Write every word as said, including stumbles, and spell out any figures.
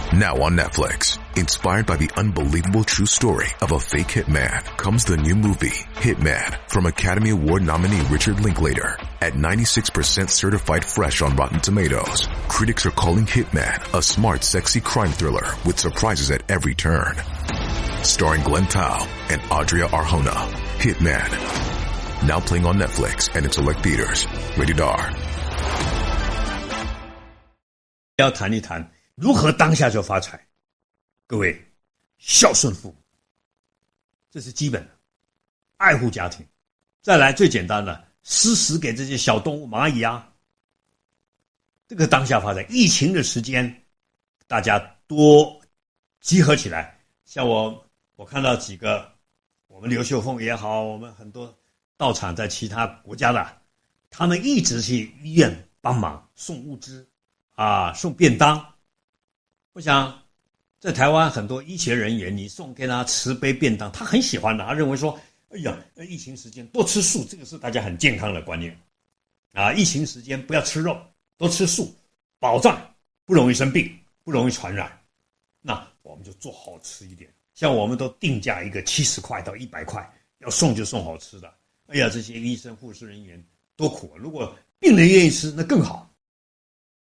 Now on Netflix, inspired by the unbelievable true story of a fake hitman, comes the new movie, Hitman, from Academy Award nominee Richard Linklater. At ninety-six percent certified fresh on Rotten Tomatoes, critics are calling Hitman a smart, sexy crime thriller with surprises at every turn. Starring Glenn Tao and Adria Arjona, Hitman. Now playing on Netflix and in select theaters. Rated R. 要谈一谈如何当下就发财。各位，孝顺父母，这是基本的，爱护家庭。再来最简单的，施食给这些小动物，蚂蚁啊，这个当下发财。疫情的时间，大家多集合起来。像我，我看到几个，我们刘秀凤也好，我们很多道场在其他国家的，他们一直去医院帮忙送物资啊，送便当。我想在台湾很多医学人员，你送给他十杯便当，他很喜欢的，他认为说，哎呀，疫情时间多吃素，这个是大家很健康的观念啊。疫情时间不要吃肉，多吃素，保障不容易生病，不容易传染。那我们就做好吃一点，像我们都定价一个七十块到一百块，要送就送好吃的。哎呀，这些医生护士人员多苦啊！如果病人愿意吃，那更好。